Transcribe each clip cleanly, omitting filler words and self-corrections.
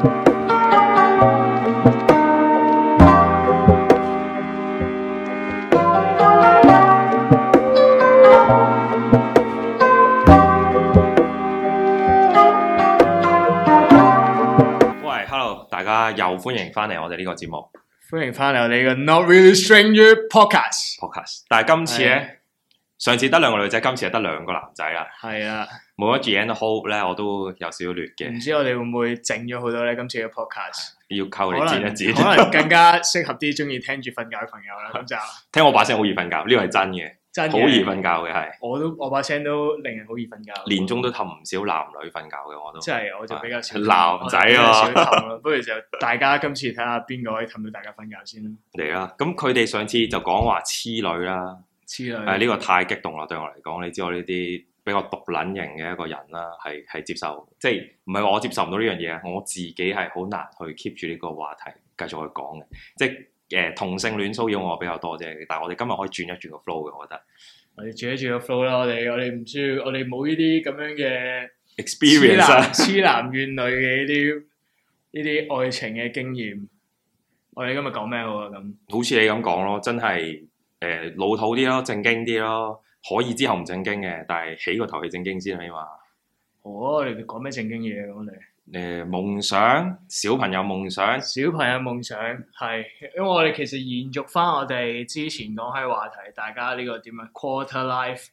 又歡迎翻嚟我哋呢個節目， 歡迎翻嚟我哋嘅 Not Really Stranger Podcast。 但係今次咧，上次得兩個女仔，今次係得兩個男仔啦。 係啊， 冇咗 Gianna Hope 咧，我都有少少劣嘅。 唔知我哋會唔會整咗好多咧？今次嘅 Podcast 要靠你剪一剪， 可能更加適合啲中意聽住瞓覺嘅朋友啦。咁就聽我把聲好易瞓覺，呢個係真嘅。好易瞓覺嘅係， 我把聲都令人好易瞓覺。 年中都氹唔少男女瞓覺嘅，我都。 即係我就比較少男仔啊， 不如就大家今次睇下邊個可以氹到大家瞓覺先啦。 嚟啦，咁佢哋上次就講話痴女啦， 痴女。 呢個太激動啦，對我嚟講，你知我呢啲比較獨撚型嘅一個人啦，係接受，即係唔係話我接受唔到呢樣嘢，我自己係好難去 keep 住呢個話題繼續去講嘅，即係。同性戀騷擾我比較多啫，但係我哋今日可以轉一轉個 flow 嘅，我覺得。我哋轉一轉個 flow 啦，我哋唔需要，我哋冇呢啲咁樣嘅 experience， 痴男怨女嘅呢啲愛情嘅經驗。我哋今日講咩好啊？咁好似你咁講咯，真係老土啲咯，正經啲咯，可以之後唔正經嘅，但係起個頭係正經先起碼。 我哋講咩正經嘢咁我哋？ 夢想，小朋友夢想， 小朋友夢想係，因為我哋其實延續翻我哋之前講開話題，大家呢個點啊 quarter life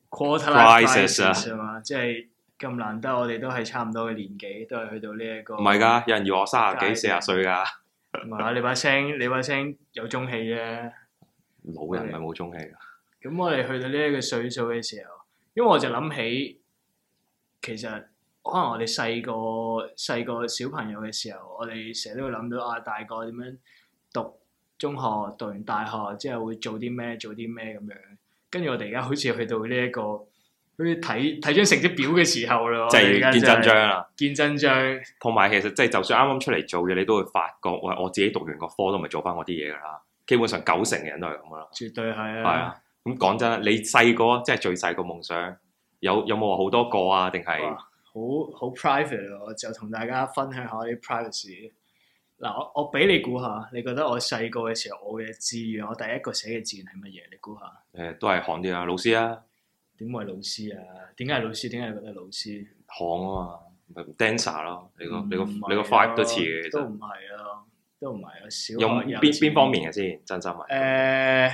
crisis 啊嘛，即係咁難得，我哋都係差唔多嘅年紀，都係去到呢一個。唔係㗎， 有人要我30幾40歲㗎。 唔係啊，你把聲有中氣啫。 老人咪冇中氣㗎。 咁我哋去到呢一個歲數嘅時候，因為我就諗起，其實。可能我哋細個小朋友嘅時候，我哋成日都會諗到啊，大個點樣讀中學，讀完大學之後會做啲咩咁樣。跟住我哋而家好似去到呢一個，好似睇張成績表嘅時候咯， 就係見真章啦。 見真章。同埋其實即係就算啱啱出嚟做嘢，你都會發覺，我自己讀完個科都唔係做翻我啲嘢噶啦。基本上90%嘅人都係咁噶啦。絕對係啊。係啊。咁講真，你細個即係最細個夢想，有冇話好多個啊？定係？ 好 private 咯，我就同大家分享下啲 privacy。嗱，我俾你估下，你覺得我細個嘅時候，我嘅志願，我第一個寫嘅志願係乜嘢？你估下？ 都係行啲啊，老師啊。 點會係老師啊？點解係老師？點解你覺得係老師？ 行啊嘛，dancer 咯，你個 vibe 都似嘅， 都唔係咯，都唔係啊。小用邊方面嘅先？真心啊。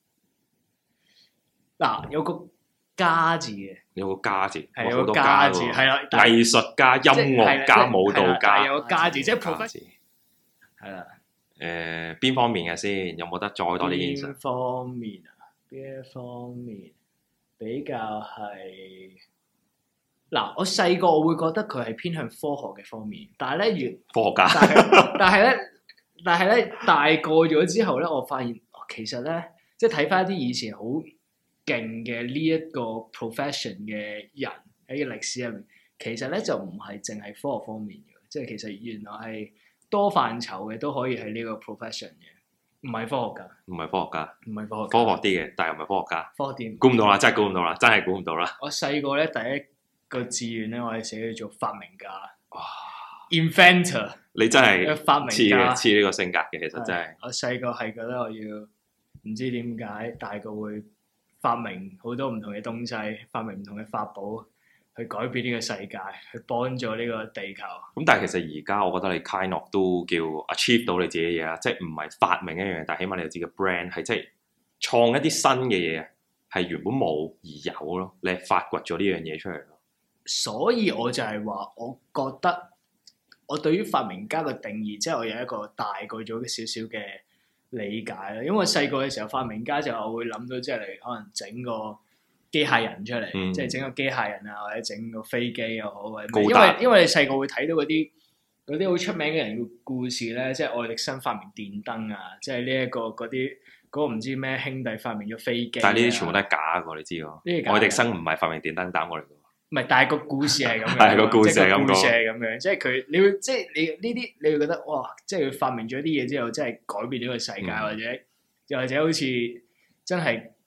嗱，有個家字嘅。 有個家字， 係有個家字，係啦， 藝術家、音樂家、舞蹈家， 有個家字，即係 profession。係啦。 邊方面嘅先？有冇得再多啲現實？ 邊方面啊？邊一方面比較係嗱？我細個我會覺得佢係偏向科學嘅方面，但係咧科學家， 但係咧大個咗之後咧，我發現其實咧，即係睇翻一啲以前好勁嘅呢一個 profession 嘅人喺個歷史入面，其實咧就唔係淨係科學方面嘅，即係其實原來係多範疇嘅都可以喺呢個 profession 嘅，唔係科學家， 唔係科學家， 唔係科學家， 科學啲嘅，但係唔係科學家， 科學啲， 估唔到啦，真係估唔到啦，真係估唔到啦。 我細個咧第一個志願咧，我係寫叫做發明家，哇 ，inventor， 你真係發明家， 似呢個性格嘅，其實真係。 我細個係覺得我要唔知點解大個會。發明好多唔同嘅東西，發明唔同嘅法寶，去改變呢個世界，去幫助呢個地球。咁但係其實而家我覺得你 kind of 都叫 achieve 到你自己嘅嘢啦，即係唔係發明一樣嘢，但係起碼你有自己嘅 brand，係即係創一啲新嘅嘢，係原本冇而有咯，你係發掘咗呢樣嘢出嚟咯。 所以我就係話，我覺得我對於發明家嘅定義，即係我有一個大個咗嘅少少嘅理解啦，因為細個嘅時候發明家就我會諗到即係你可能整個機械人出嚟，即係整個機械人啊，或者整個飛機又好，或者因為你細個會睇到嗰啲好出名嘅人嘅故事咧，即係愛迪生發明電燈啊，即係呢一個嗰個唔知咩兄弟發明咗飛機， 但係呢啲全部都係假嘅，你知喎？愛迪生唔係發明電燈膽過嚟嘅。唔係，但係個故事係咁樣， 係個故事係咁樣，即係佢，你會即係你呢啲，你會覺得哇，即係佢發明咗啲嘢之後，真係改變咗個世界，或者又或者好似真係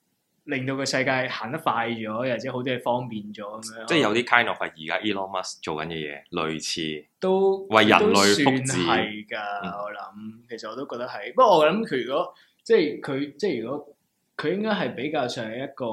令到個世界行得快咗，或者好多嘢方便咗咁樣。 即係有啲 kind of 係而家 Elon Musk 做緊嘅嘢，類似都為人類福祉係㗎。我諗其實我都覺得係，不過我諗佢如果即係如果佢應該係比較上係一個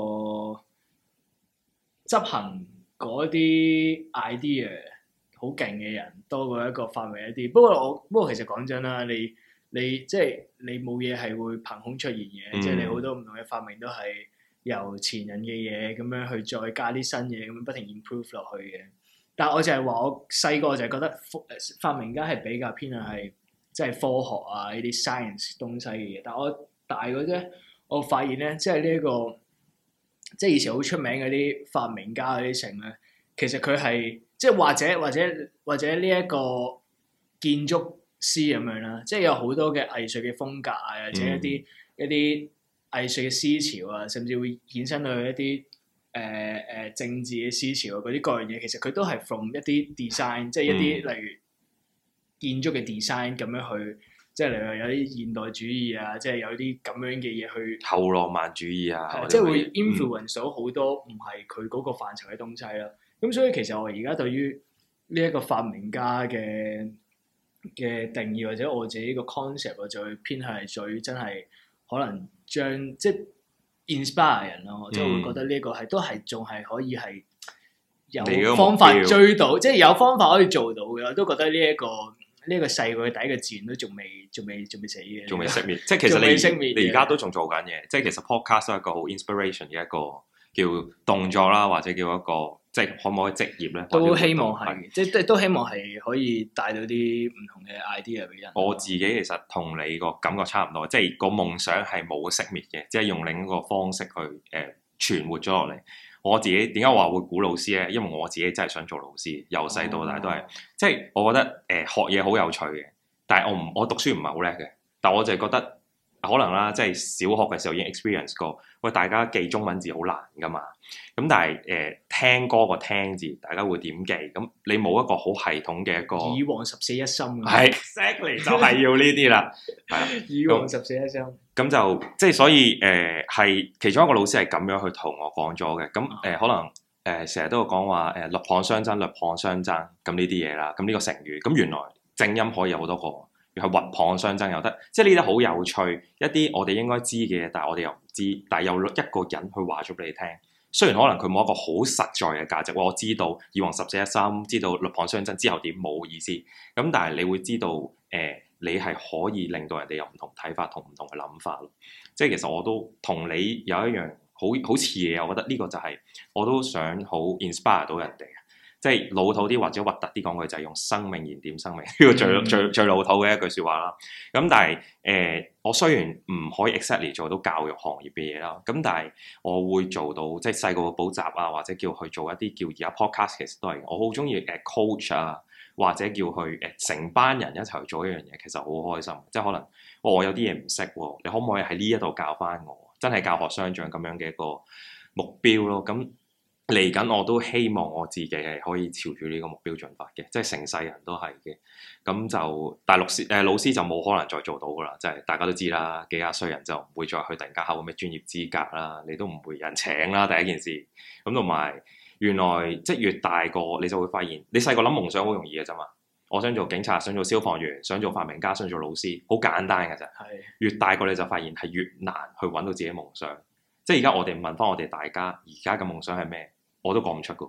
執行嗰啲 idea 好勁嘅人，多過一個發明一啲。不過其實講真啦，你即係你冇嘢係會憑空出現嘅，即係你好多唔同嘅發明都係由前人嘅嘢咁樣去再加啲新嘢，咁樣不停 improve 落去嘅。但係我就係話，我細個就係覺得發明家係比較偏向係即係科學啊呢啲 science 東西嘅嘢。但係我大個啫，我發現咧，即係呢一個即係以前好出名嗰啲發明家嗰啲成咧，其實佢係即係或者呢一個建築師咁樣啦，即係有好多嘅藝術嘅風格啊，或者一啲藝術嘅思潮啊，甚至會衍生到一啲政治嘅思潮啊，嗰啲各樣嘢，其實佢都係 from 一啲 design，即係一啲例如建築嘅 design 咁樣去，即係例如有啲現代主義啊，即係有啲咁樣嘅嘢去後浪漫主義啊， 即係會 influence 到好多唔係佢嗰個範疇嘅東西啦。咁所以其實我而家對於呢一個發明家嘅定義或者我自己個 concept，我就會偏向係最真係可能將即係 inspire 人咯，即係會覺得呢個係都係仲係可以係有方法追到，即係有方法可以做到嘅。我都覺得呢一個世界嘅第一個自然都仲未死嘅， 仲未熄滅。即係其實你而家都仲做緊嘢，即係其實 podcast 都係一個好 inspiration 嘅一個叫動作啦，或者叫一個。即係可唔可以職業咧？ 都希望係，即係都希望係可以帶到啲唔同嘅 idea 俾人。 我自己其實同你個感覺差唔多，即係個夢想係冇熄滅嘅，即係用另一個方式去存活咗落嚟。我自己點解話會估老師咧？因為我自己真係想做老師，由細到大都係。即係我覺得學嘢好有趣嘅，但係我讀書唔係好叻嘅，但我就係覺得可能啦，即係小學嘅時候已經 experience 過。喂，大家記中文字好難噶嘛？咁但係聽歌個聽字，大家會點記？咁你冇一個好系統嘅一個以往14一心， 係 exactly 就係要呢啲啦，係啦， 以往14一心。 咁就即係所以係其中一個老師係咁樣去同我講咗嘅。咁可能成日都有講話鷸蚌相爭，鷸蚌相爭咁呢啲嘢啦。咁呢個成語，咁原來正音可以有好多個。係鷸蚌相爭又得，即係呢啲好有趣，一啲我哋應該知嘅嘢，但係我哋又唔知，但係有一個人去話咗俾你聽。雖然可能佢冇一個好實在嘅價值，我知道以往14一心，知道鷸蚌相爭之後點冇意思。咁但係你會知道，你係可以令到人哋有唔同睇法同唔同嘅諗法咯。即係其實我都同你有一樣好似嘅嘢，我覺得呢個就係我都想好 inspire 到人哋。即係老土啲或者核突啲講句就係用生命燃點生命，呢個最老土嘅一句説話啦。咁但係我雖然唔可以 exactly 做到教育行業嘅嘢啦，咁但係我會做到即係細個嘅補習啊，或者叫去做一啲叫而家 podcast 其實都係我好中意coach 啊，或者叫去成班人一齊去做一樣嘢，其實好開心。即係可能我有啲嘢唔識喎，你可唔可以喺呢一度教翻我？真係教學相長咁樣嘅一個目標咯。咁嚟緊我都希望我自己係可以朝住呢個目標進發嘅，即係成世人都係嘅。咁就但係老師就冇可能再做到噶啦，即係大家都知啦，幾廿歲人就唔會再去突然間考個咩專業資格啦，你都唔會有人請啦。第一件事咁同埋原來即係越大個你就會發現，你細個諗夢想好容易嘅啫嘛。我想做警察，想做消防員，想做發明家，想做老師，好簡單嘅啫。係越大個你就發現係越難去揾到自己夢想。即係而家我哋問翻我哋大家，而家嘅夢想係咩？我都講唔出噶，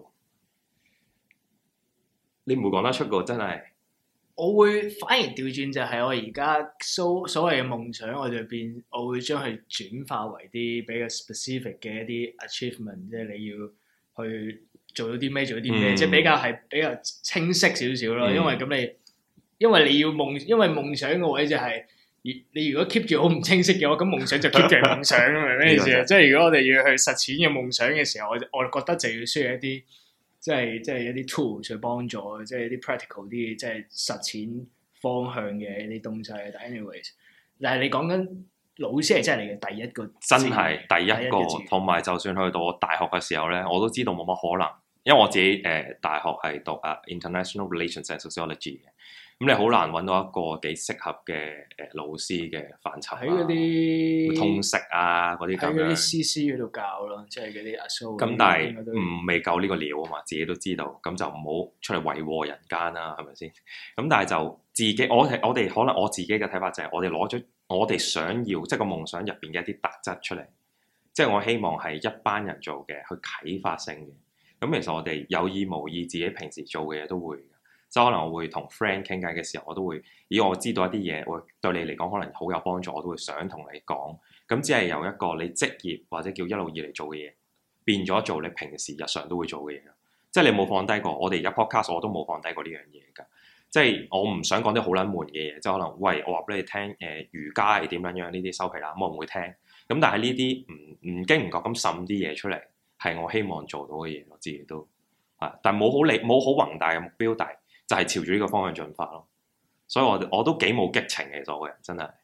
你唔會講得出噶，真係。 我會反而調轉就係我而家所謂嘅夢想，我會將佢轉化為啲比較 specific 嘅一啲 achievement，即係你要去做到啲咩，做到啲咩，即係比較清晰少少咯。因為你要因為夢想嘅位就係、是。你如果 keep 住好唔清晰嘅話，咁夢想就 keep 住係夢想，明咩意思啊？即係如果我哋要去實踐嘅夢想嘅時候，我覺得就要需要一啲即係一啲 tool 去幫助，即係一啲 practical 啲，即係實踐方向嘅一啲東西。但 anyways， 但係你講緊老師係真係你嘅第一個， 真係第一個，同埋就算去到我大學嘅時候咧，我都知道冇乜可能，因為我自己大學係讀international relations and sociology 嘅。 咁你好難揾到一個幾適合嘅老師嘅範疇喺嗰啲通識啊嗰啲咁樣。 喺嗰啲 CC 嗰度教咯，即係嗰啲阿蘇。 咁但係未夠呢個料啊嘛，自己都知道，咁就唔好出嚟為禍人間啦，係咪先？咁但係就自己，我哋可能我自己嘅睇法就係，我哋攞咗我哋想要即係個夢想入邊嘅一啲特質出嚟，即係我希望係一班人做嘅，去啟發性嘅。咁其實我哋有意無意自己平時做嘅嘢都會。即係可能我會同 friend 傾偈嘅時候，我都會，我知道一啲嘢，會對你嚟講可能好有幫助，我都會想同你講。咁只係由一個你職業或者叫一路以嚟做嘅嘢，變咗做你平時日常都會做嘅嘢。即係你冇放低過，我哋而家 podcast 我都冇放低過呢樣嘢㗎。即係我唔想講啲好撚悶嘅嘢，即係可能喂我話俾你聽，瑜伽係點樣樣呢啲收皮啦，我唔會聽。咁但係呢啲唔經唔覺咁滲啲嘢出嚟，係我希望做到嘅嘢，我自己都但係冇好宏大嘅目標，但係就係朝住呢個方向進發咯，所以我都幾冇激情嘅，其實我個人真係。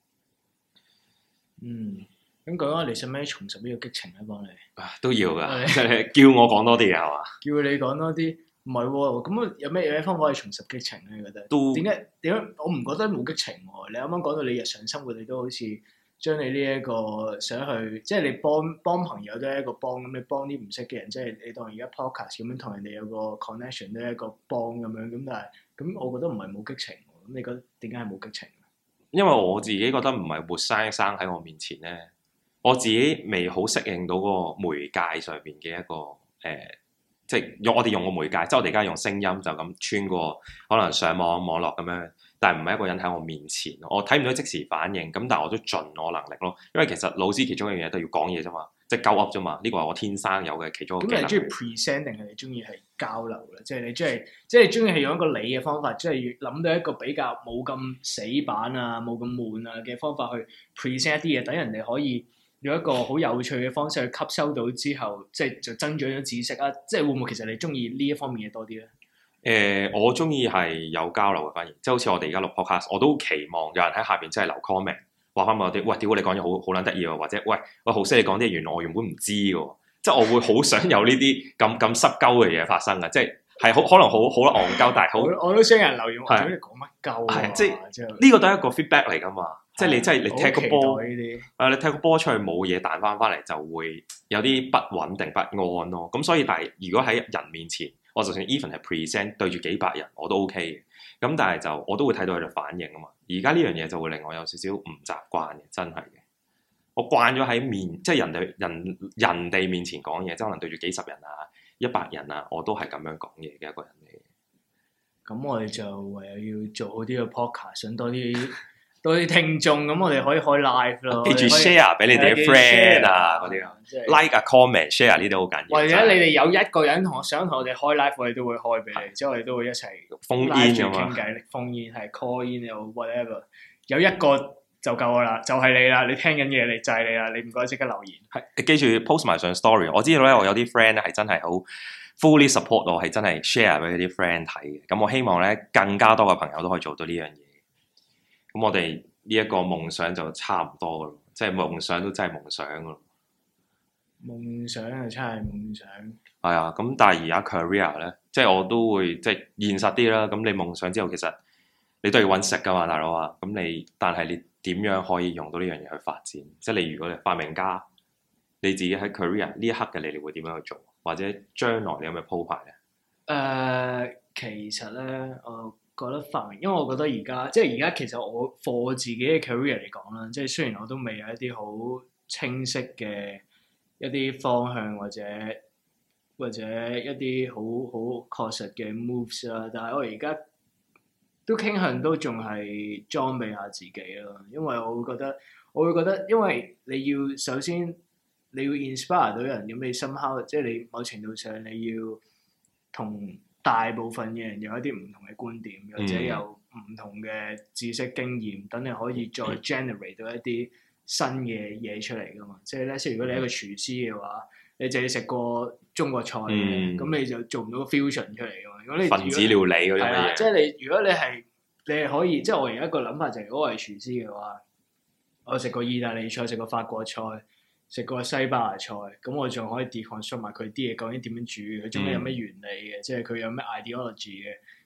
咁講下你使唔使重拾呢個激情咧？幫你都要㗎，即係叫我講多啲嘢係嘛？ 叫你講多啲，唔係喎。咁有咩方法可以重拾激情咧？你覺得？點解？我唔覺得冇激情喎。你啱啱講到你日常生活，你都好似將你呢一個想去，即係你幫朋友都係一個幫咁，你幫啲唔識嘅人，即係你當而家 podcast 咁樣同人哋有個 connection 都係一個幫咁樣。咁但係咁，我覺得唔係冇激情。咁你覺得點解係冇激情？因為我自己覺得唔係活生生喺我面前咧，我自己未好適應到嗰個媒介上邊嘅一個即係我哋用個媒介，即係我哋而家用聲音就咁穿過可能上網絡咁樣。但係唔係一個人喺我面前，我睇唔到即時反應，咁但係我都盡我能力咯。因為其實老師其中一樣嘢都要講嘢啫嘛，即係鳩噏啫嘛。呢個係我天生有嘅其中一個技能。咁你中意 present 定係你中意係交流咧？即係你中意係用一個你嘅方法，即係諗到一個比較冇咁死板啊、冇咁悶啊嘅方法去 present 一啲嘢，等人哋可以用一個好有趣嘅方式去吸收到之後，即係就增長咗知識啊！即係會唔會其實你中意呢一方面嘢多啲咧？ 我中意係有交流嘅，反而即係好似我哋而家錄 podcast，我都期望有人喺下邊真係留 comment，話翻我啲，喂，屌你講嘢好撚得意喎，或者喂好識你講啲嘢，原來我原本唔知嘅，即係我會好想有呢啲咁濕鳩嘅嘢發生嘅，即係可能好戇鳩，但係好我都想有人留言話，你講乜鳩啊？ 即係呢個都係一個 feedback 嚟噶嘛，即係你真係你踢個波，你踢個波出去冇嘢彈翻嚟，就會有啲不穩定不安咯。咁所以但係如果喺人面前，我就算 even 係 present 對住幾百人我都 OK 嘅，咁但係就我都會睇到佢哋反應啊嘛。而家呢樣嘢就會令我有少少唔習慣嘅，真係嘅。我慣咗喺即係人哋面前講嘢，即係可能對住幾十人啊、100人啊，我都係咁樣講嘢嘅一個人嚟嘅。 咁我哋就唯有要做好啲嘅 podcast，想多啲聽眾，咁我哋可以開 live 咯。 記住 share 俾你哋嘅 friend 啊，嗰啲啊，like 啊 comment share 呢啲好緊要。 或者你哋有一個人想同我哋開 live，我哋都會開俾你，之後我哋都會一齊 phone in 咁傾偈，phone in 係 call in 又 whatever，有一個就夠我啦，就係你啦，你聽緊嘢你就係你啦，你唔該即刻留言。 係記住 post 埋上 story， 我知道咧，我有啲 friend 咧係真係好 fully support 我，係真係 share 俾啲 friend 睇嘅。咁我希望咧更加多嘅朋友都可以做到呢樣嘢。咁我哋呢一個夢想就差唔多噶咯，即係夢想都真係夢想噶咯。 夢想就真係夢想。 係啊，咁但係而家 career 咧，即係我都會即係現實啲啦。咁你夢想之後，其實你都要揾食噶嘛，大佬啊。咁但係你點樣可以用到呢樣嘢去發展？即係你如果你發明家，你自己喺 career 呢一刻嘅你會點樣去做？或者將來你有咩鋪排咧？ 其實咧，我覺得發明，因為我覺得而家其實我 for 自己嘅 career 嚟講啦，即係雖然我都未有一啲好清晰嘅一啲方向或者一啲好確實嘅 moves 啦，但係我而家都傾向都仲係裝備下自己咯，因為我會覺得，因為你要首先你要 inspire 到人，咁你 somehow 即係你某程度上你要同大部分嘅人有一啲唔同嘅觀點，或者有唔同嘅知識經驗，等你可以再 generate 到一啲新嘅嘢出嚟噶嘛。即係咧，即係如果你係一個廚師嘅話，你淨係食過中國菜嘅，咁你就做唔到個 fusion 出嚟噶嘛。如果你分子料理嗰啲嘢， 即係如果你係可以，即係我而家一個諗法就係，如果我係廚師嘅話，我食過意大利菜，食過法國菜，食過西班牙菜，咁我仲可以 deconstruct 埋佢啲嘢究竟點樣煮，佢中間有咩原理嘅，即係佢有咩 ideology 嘅，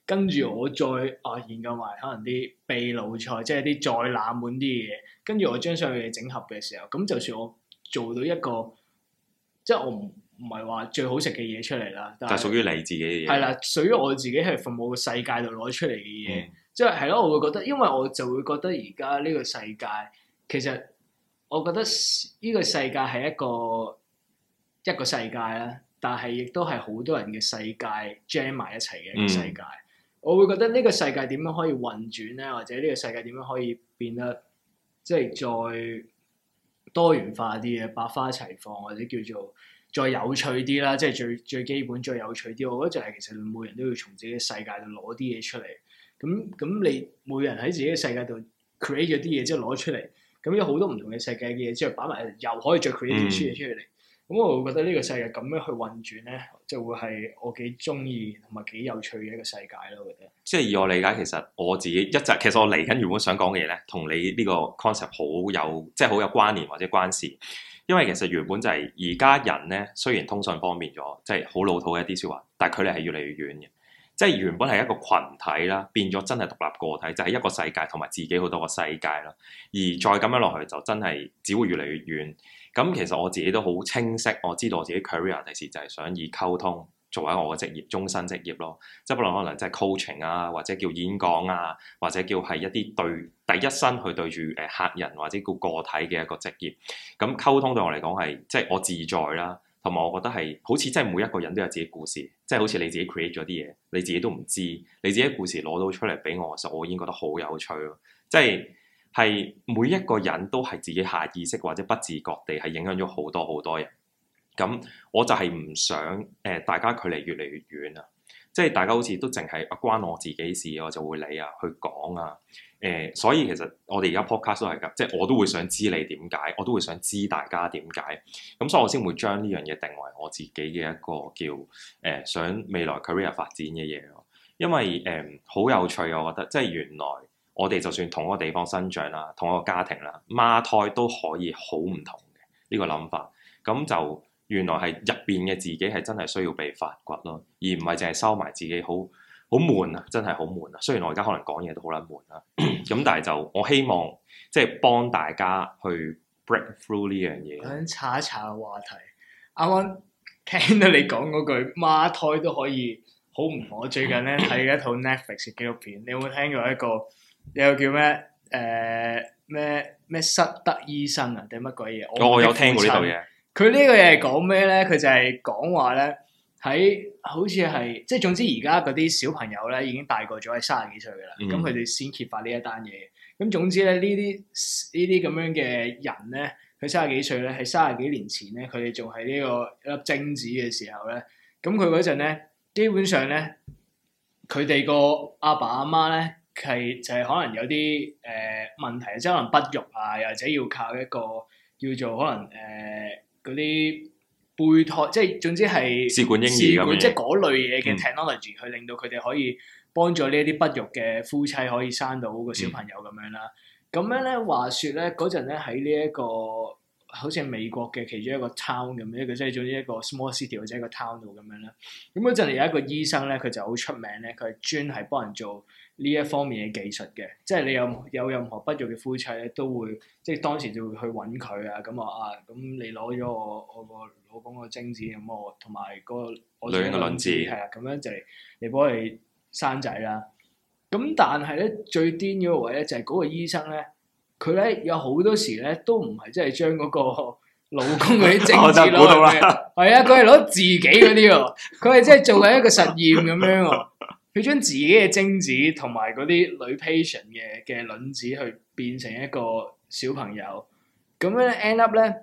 跟住我再研究埋可能啲秘魯菜，即係啲再冷門啲嘅嘢，跟住我將所有嘢整合嘅時候，咁就算我做到一個，即係我唔係話最好食嘅嘢出嚟啦，但係就屬於你自己嘅嘢。 係啦，屬於我自己係從我個世界度攞出嚟嘅嘢，即係咯，我會覺得，因為我就會覺得而家呢個世界其實。我覺得呢個世界係一個世界啦，但係亦都係好多人嘅世界 jam 埋一齊嘅一個世界。我會覺得呢個世界點樣可以運轉咧，或者呢個世界點樣可以變得即係再多元化啲嘅，百花齊放，或者叫做再有趣啲啦。即係最基本、最有趣啲。我覺得就係其實每人都要從自己嘅世界度攞啲嘢出嚟。咁你每人喺自己嘅世界度 create 咗啲嘢之後攞出嚟。咁有好多唔同嘅世界嘅嘢之後擺埋，又可以再 create 啲嘢出嚟。咁我會覺得呢個世界咁樣去運轉咧，就會係我幾中意同埋幾有趣嘅一個世界咯。我覺得。即係以我理解，其實我自己其實我嚟緊原本想講嘅嘢咧，同你呢個 concept 好有關聯或者關事。因為其實原本就係而家人咧，雖然通訊方便咗，即係好老土嘅一啲説話，但係距離係越嚟越遠嘅。即係原本係一個群體啦，變咗真係獨立個體，就係一個世界同埋自己好多個世界啦。而再咁樣落去，就真係只會越嚟越遠。咁其實我自己都好清晰，我知道我自己 career 第時就係想以溝通作為我嘅職業，終身職業咯。即係不論可能即係 coaching 啊，或者叫演講啊，或者叫係一啲第一身去對住客人或者叫個體嘅一個職業。咁溝通對我嚟講係即係我自在啦。同埋我覺得係好似真係每一個人都有自己故事，即係好似你自己 create 咗啲嘢，你自己都唔知，你自己故事攞到出嚟俾我嘅時候，我已經覺得好有趣咯。即係每一個人都係自己下意識或者不自覺地係影響咗好多人。咁我就係唔想大家距離越嚟越遠啊！即係大家好似都淨係關我自己事，我就會理啊，去講啊。所以其實我哋而家 podcast 都係㗎，即係我都會想知你點解，我都會想知大家點解。咁所以我先會將呢樣嘢定為我自己嘅一個叫想未來 career 發展嘅嘢咯。因為好有趣，我覺得即係原來我哋就算同一個地方生長啦，同一個家庭啦，孖胎都可以好唔同嘅呢個諗法。咁就原來係入邊嘅自己係真係需要被發掘咯，而唔係淨係收埋自己好悶啊！真係好悶啊！雖然我而家可能講嘢都好撚悶啦，咁但係就我希望即係幫大家去 break through 呢樣嘢。我想查一查個話題。啱啱聽到你講嗰句孖胎都可以好唔同。我最近咧睇一套 Netflix 嘅紀錄片，你有冇聽過一個叫咩咩失德醫生啊定乜鬼嘢？ 我有聽過呢套嘢。 佢呢個嘢係講咩咧？佢就係講話咧，喺好似係即係總之而家嗰啲小朋友咧已經大個咗，係30幾歲噶啦。咁佢哋先揭發呢一單嘢。咁總之咧，呢啲咁樣嘅人咧，佢30幾歲咧，喺30幾年前咧，佢哋仲係呢個一粒精子嘅時候咧，咁佢嗰陣咧，基本上咧，佢哋個阿爸阿媽咧係就係可能有啲問題，即係可能不育啊，又或者要靠一個叫做可能嗰啲胚胎，即係總之係試管嬰兒咁樣， 即係嗰類嘢嘅 technology，去令到佢哋可以幫助呢一啲不育嘅夫妻可以生到個小朋友咁樣啦。咁樣咧，話説咧嗰陣咧喺呢一個好似係美國嘅其中一個 town 咁樣，即係總之一個 small city 或者一個 town 度咁樣啦。咁嗰陣有一個醫生咧，佢就好出名咧，佢係專係幫人做呢一方面嘅技術嘅，即係你有任何不育嘅夫妻咧，都會即係當時就會去揾佢啊，咁咁你攞咗我個老公個精子，咁我同埋個女人嘅卵子， 係啊，咁樣就嚟幫佢生仔啦。咁但係咧最癲嗰個位咧就係嗰個醫生咧，佢咧有好多時咧都唔係真係將嗰個老公嗰啲精子攞嘅，係啊，佢係攞自己嗰啲喎，佢係真係做緊一個實驗咁樣喎。佢將自己嘅精子同埋嗰啲女 patient 嘅卵子去變成一個小朋友，咁樣 end up 咧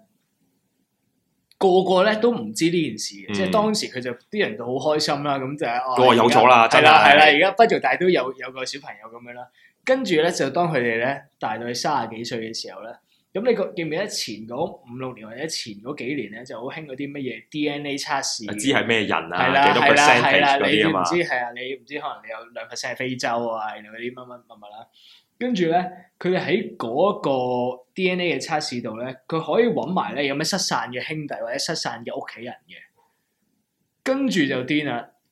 個咧都唔知呢件事嘅，即係當時佢就啲人就好開心啦，咁就係有咗啦，真係係啦，而家不育但係都有個小朋友咁樣啦，跟住咧就當佢哋咧大到30幾歲嘅時候咧。咁你記唔記得前嗰5-6年或者前嗰幾年咧，就好興嗰啲乜嘢 DNA 測試？ 知係咩人啊？ 係啦， 幾多 percentage 嗰啲啊嘛？ 你唔知可能你有2%係非洲啊，然後嗰啲乜啦。跟住咧，佢哋喺嗰個 DNA 嘅測試度咧，佢可以揾埋咧有咩失散嘅兄弟或者失散嘅屋企人嘅。跟住就癲啦！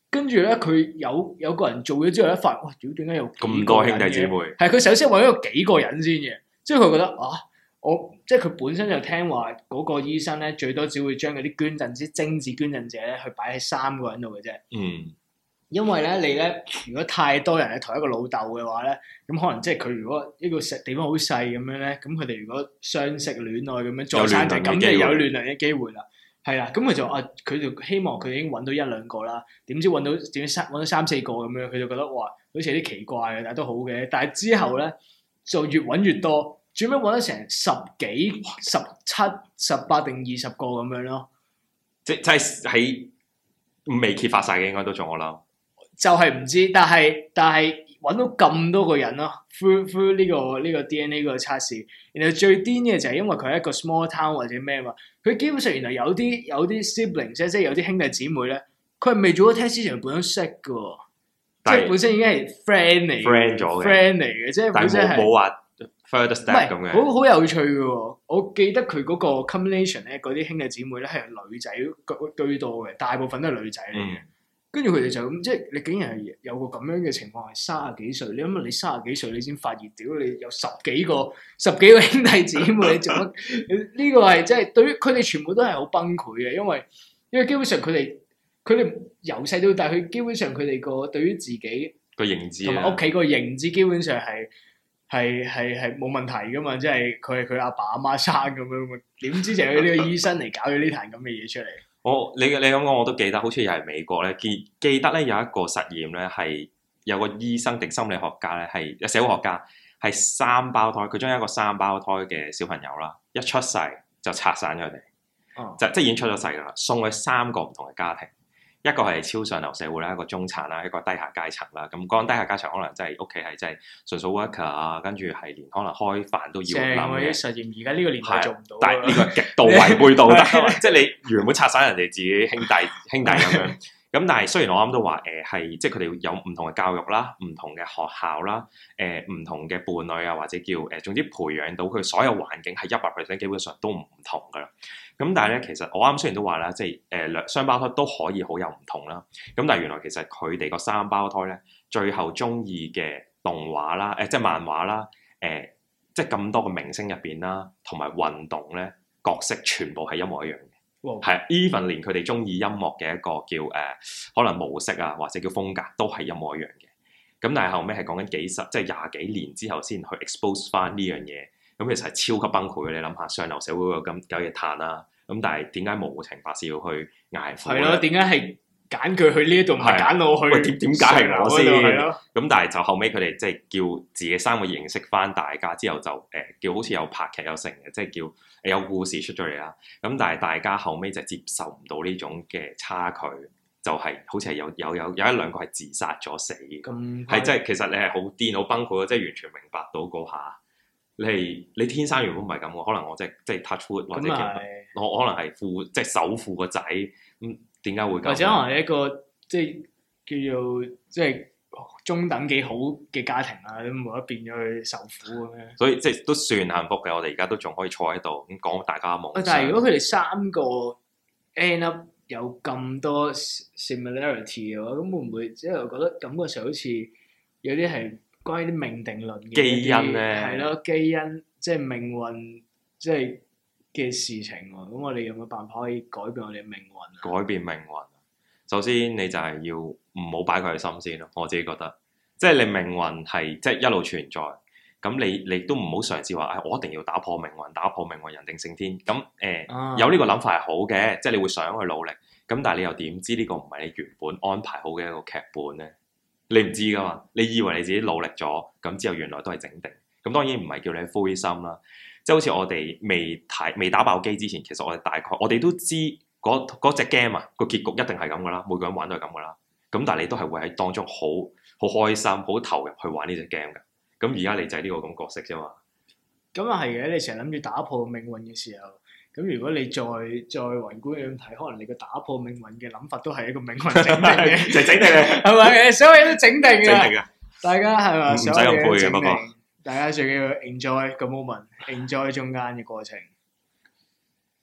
跟住咧，佢有個人做咗之後，一發現哇，屌點解有咁多兄弟姊妹？ 係佢首先揾咗幾個人先嘅，即係佢覺得即係佢本身就聽話嗰個醫生咧，最多只會將嗰啲捐贈之精子捐贈者咧，去擺喺3個人度嘅啫。 嗯， 因為咧，你咧如果太多人係同一個老豆嘅話咧，咁可能即係佢如果呢個地方好細咁樣咧，咁佢哋如果相識戀愛咁樣再生仔，咁就有亂倫嘅機會啦。係啦，咁佢就希望佢已經揾到1-2個啦，點知揾到3-4個咁樣，佢就覺得哇，好似有啲奇怪嘅，但係都好嘅。但係之後咧就越揾越多，最尾揾得成10幾、17、18定20個咁樣咯。 即係喺未揭發晒嘅，應該都仲我諗。 就係唔知，但係揾到咁多個人咯 through 呢個 DNA 個測試，然後最癲嘅就係因為佢係一個 small town 或者咩嘛，佢基本上原來有啲 siblings 即係有啲兄弟姊妹咧，佢係未做過 test 之前本身識㗎，即係本身已經係 friend 嚟嘅，即係本身係冇話 further step 咁嘅， 好有趣嘅喎。我記得佢嗰個 combination 咧，嗰啲兄弟姊妹咧係女仔居多嘅，大部分都係女仔嚟嘅。跟住佢哋就咁，即係你竟然係有個咁樣嘅情況，係30幾歲。你諗下，你30幾歲，你先發現，屌你有十幾個兄弟姊妹，你做乜？呢個係即係對於佢哋全部都係好崩潰嘅，因為基本上佢哋由細到大，佢基本上佢哋個對於自己個認知同埋屋企個認知，基本上係冇問題噶嘛，即係佢係佢阿爸阿媽生咁樣，點知就有呢個醫生嚟搞咗呢壇咁嘅嘢出嚟。 你咁講我都記得，好似又係美國咧，記得咧有一個實驗咧，係有個醫生定心理學家咧，係社會學家，係3胞胎，佢將一個3胞胎嘅小朋友啦，一出世就拆散佢哋，即係已經出咗世噶啦，送去3個唔同嘅家庭。一個係超上流社會啦，一個中產啦，一個低下階層啦。咁講低下階層可能真係屋企係真係純屬 worker 啊，跟住係連可能開飯都要諗嘅實驗。而家呢個年代做唔到， 但係呢個極度違背道德，即係你原本拆散人哋自己兄弟咁樣。咁但係雖然我啱都話係即係佢哋有唔同嘅教育啦，唔同嘅學校啦，唔同嘅伴侶啊，或者叫總之培養到佢所有環境係100%基本上都唔同噶啦。咁但係咧，其實我啱雖然都話啦，即係雙胞胎都可以好有唔同啦。咁但係原來其實佢哋個3胞胎咧，最後中意嘅動畫啦，即係漫畫啦，即係咁多個明星入邊啦，同埋運動咧角色全部係一模一樣嘅。係 even 連佢哋中意音樂嘅一個叫可能模式啊，或者叫風格都係一模一樣嘅。咁但係後尾係講緊即係20幾年之後先去 expose 翻呢樣嘢。咁其實係超級崩潰嘅。你諗下，上流社會有咁嘅嘆啦。咁但係點解無情白事要去捱苦咧？係咯，點解係揀佢去呢一度，唔係揀我去？喂，點解係我先？咁但係就後尾佢哋即係叫自己3個認識翻大家之後就叫好似有拍劇有成嘅，即係叫有故事出咗嚟啦。咁但係大家後尾就接受唔到呢種嘅差距，就係好似係有1-2個係自殺咗死，係即係其實你係好癲好崩潰，即係完全明白到嗰下。你天生原本唔係咁嘅，可能我即係 touch wood 或者我可能係即係首富個仔，咁點解會咁？或者可能係一個即係叫做即係中等幾好嘅家庭啊，都冇得變咗去受苦咁樣。所以即係都算幸福嘅，我哋而家都仲可以坐喺度咁講大家嘅夢想。但係如果佢哋3個 end up 有咁多 similarity 嘅話，咁會唔會即係我覺得感覺上好似有啲係關於啲命定論嘅基因咧，係咯，基因即係命運，即係嘅事情喎。咁我哋有冇辦法可以改變我哋嘅命運？改變命運，首先你就係要唔好擺佢喺心先咯。我自己覺得，即係你命運係即係一路存在，咁你都唔好嘗試話，我一定要打破命運，人定勝天。咁有呢個諗法係好嘅，即係你會想去努力。咁但係你又點知呢個唔係你原本安排好嘅一個劇本咧？你唔知噶嘛？你以為你自己努力咗，咁之後原來都係整定。咁當然唔係叫你灰心啦。即係好似我哋未打爆機之前，其實我哋都知嗰隻 game 啊個結局一定係咁噶啦，每個人玩都係咁噶啦。咁但係你都係會喺當中好開心、好投入去玩呢隻 game 噶。咁而家你就係呢個咁角色啫嘛。咁啊係嘅，你成日諗住打破命運嘅時候。咁如果你再宏觀咁睇，可能你個打破命運嘅諗法都係一個命運整定嘅，就整定嘅，係咪？所有嘢都整定嘅，大家係咪？唔使咁灰嘅，不過大家最緊要 enjoy 個 moment，enjoy 中間嘅過程。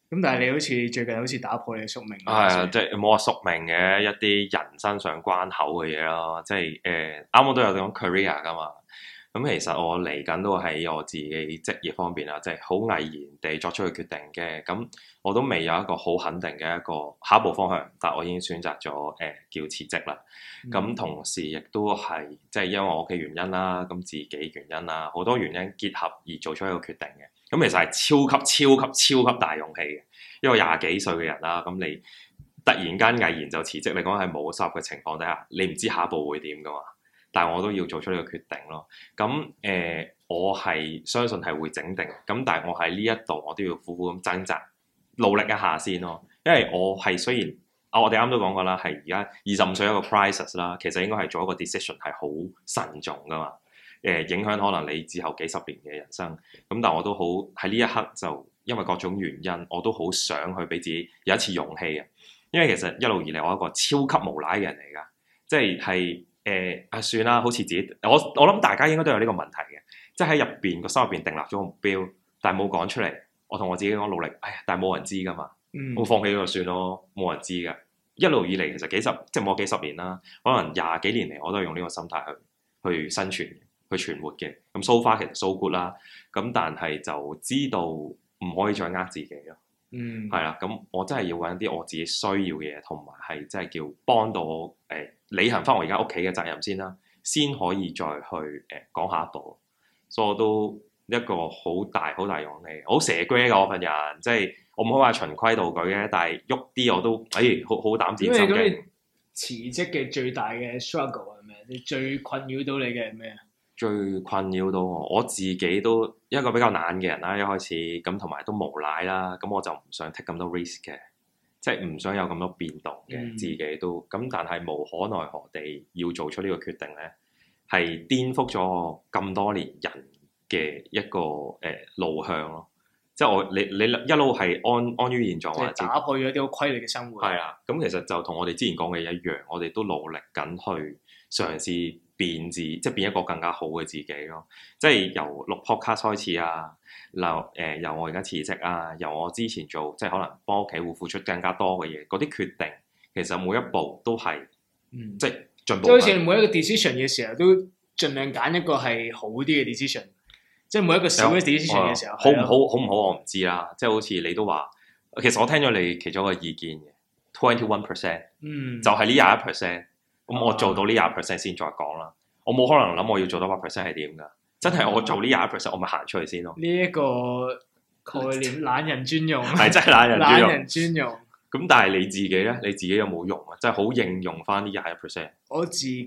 咁但係你好似最近好似打破你嘅宿命。 係啊，即係冇話宿命嘅一啲人生上關口嘅嘢咯，即係啱啱都有講 career 噶嘛。咁其實我嚟緊都喺我自己職業方面啦，即係好毅然地作出嘅決定嘅。咁我都未有一個好肯定嘅一個下一步方向，但我已經選擇咗叫辭職啦。咁同時亦都係即係因為我嘅原因啦，咁自己原因啦，好多原因結合而做出一個決定嘅。咁其實係超級大勇氣嘅，因為廿幾歲嘅人啦，咁你突然間毅然就辭職，你講係冇收入嘅情況底下，你唔知下一步會點噶嘛？但係我都要做出呢個決定咯。咁我係相信係會整定。咁但係我喺呢一度，我都要苦苦咁掙扎，努力一下先咯。因為我係雖然我哋啱都講過啦，係而家25歲一個 crisis 啦，其實應該係做一個 decision 係好慎重噶嘛。影響可能你之後幾十年嘅人生。咁但係我都好喺呢一刻就因為各種原因，我都好想去俾自己有一次勇氣嘅。因為其實一路以嚟我係一個超級無賴嘅人嚟㗎，即係算啦，好似自己我諗大家應該都有呢個問題嘅，即係喺入邊個心入邊訂立咗個目標，但係冇講出嚟。我同我自己講努力，但係冇人知㗎嘛，我放棄咗就算咯，冇人知㗎。一路以嚟其實即係冇幾十年啦，可能20幾年嚟我都係用呢個心態去生存、去存活嘅。咁 so far 其實 so good 啦，咁但係就知道唔可以再自己咯。係啦，咁我真係要揾啲我自己需要嘅嘢，同埋係真係叫幫到我履行翻我而家屋企嘅責任先啦，先可以再去講下一步。所以我都一個好大勇氣，好蛇龜㗎我份人，即係我唔可以話循規蹈矩嘅，但係喐啲我都好膽戰心驚。 咁你辭職嘅最大嘅 struggle 係咩？你最困擾到你嘅係咩啊？ 最困擾到我自己都一個比較懶嘅人啦，一開始咁同埋都無賴啦，咁我就唔想 take 咁多 risk 嘅，即係唔想有咁多變動嘅，自己都咁，但係無可奈何地要做出呢個決定咧，係顛覆咗我咁多年人嘅一個路向咯，即係你一路係安於現狀， 即係打破咗啲好規律嘅生活。係啊，咁其實就同我哋之前講嘅一樣，我哋都努力緊去嘗試變即係變一個更加好嘅自己咯。即係由錄 podcast 開始啊，由我而家辭職啊，由我之前做即係可能幫屋企會付出更加多嘅嘢，嗰啲決定其實每一步都係即係進步。 即係好似每一個 decision 嘅時候，都盡量揀一個係好啲嘅 decision。即係每一個小嘅 decision 嘅時候，好唔好我唔知啦。即係好似你都話，其實我聽咗你其中一個意見嘅 21%，就係呢21%。咁我做到呢20%先再講啦。我冇可能諗我要做到100%係點㗎？真係我做呢21%，我咪行出去先咯。 呢一個概念，懶人專用， 係真係懶人專用。 咁但係你自己咧，你自己有冇用啊？即係好應用翻呢21%。 我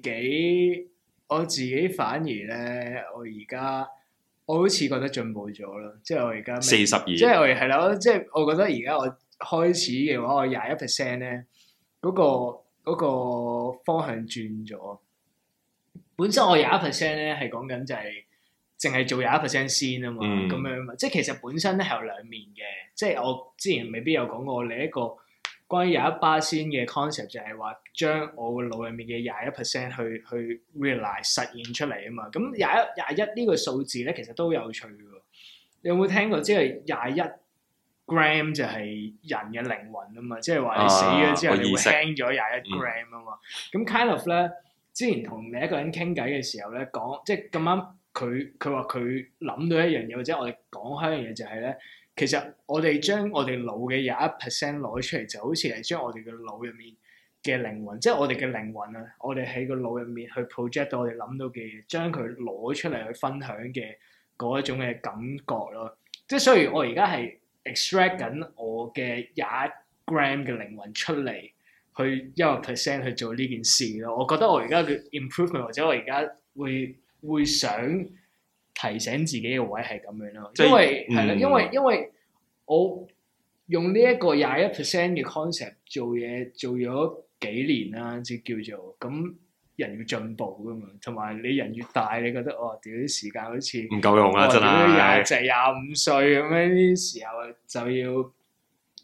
自己反而咧，我好似覺得進步咗咯。即係我而家 42， 即係係啦。即係我覺得而家我開始嘅話，我21%咧，嗰個方向轉咗。本身我21%咧係講緊就係淨係做21%先啊嘛，咁樣嘛。即係其實本身咧係有兩面嘅。即係我之前未必有講過另一個關於21%先嘅 concept，就係話將我個腦入面嘅21%去 realize 實現出嚟啊嘛。咁21呢個數字咧，其實都有趣嘅。你有冇聽過？即係21 gram 就係人嘅靈魂啊嘛。即係話你死咗之後，你會輕咗21 gram 啊嘛。咁 kind of 咧，之前同另一個人傾偈嘅時候咧，講即係咁啱佢話佢諗到一樣嘢，或者我哋講開一樣嘢就係咧。其實我哋將我哋腦嘅21%攞出嚟，就好似係將我哋嘅腦入面嘅靈魂，即係我哋嘅靈魂啊！我哋喺個腦入面去 project 到我哋諗到嘅嘢，將佢攞出嚟去分享嘅嗰一種嘅感覺咯。即係所以我而家係 extract 緊我嘅21 gram 嘅靈魂出嚟，去1% 去做呢件事咯。我覺得我而家嘅 improvement 或者我而家會想提醒自己嘅位係咁樣咯，因為係啦，因為我用呢一個21% 嘅 concept 做嘢做咗幾年啦，即係叫做咁人要進步噶嘛，同埋你人越大，你覺得屌啲時間好似唔夠用啦，真係 25歲咁樣啲時候就要